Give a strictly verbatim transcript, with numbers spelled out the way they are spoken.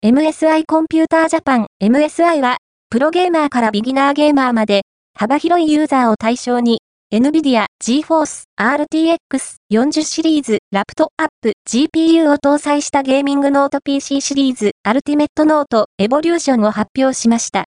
エムエスアイ コンピュータージャパン エムエスアイ は、プロゲーマーからビギナーゲーマーまで、幅広いユーザーを対象に、NVIDIA GeForce アールティーエックスよんじゅう シリーズラプトアップ ジーピーユー を搭載したゲーミングノート ピーシー シリーズ Ultimate Note Evolution を発表しました。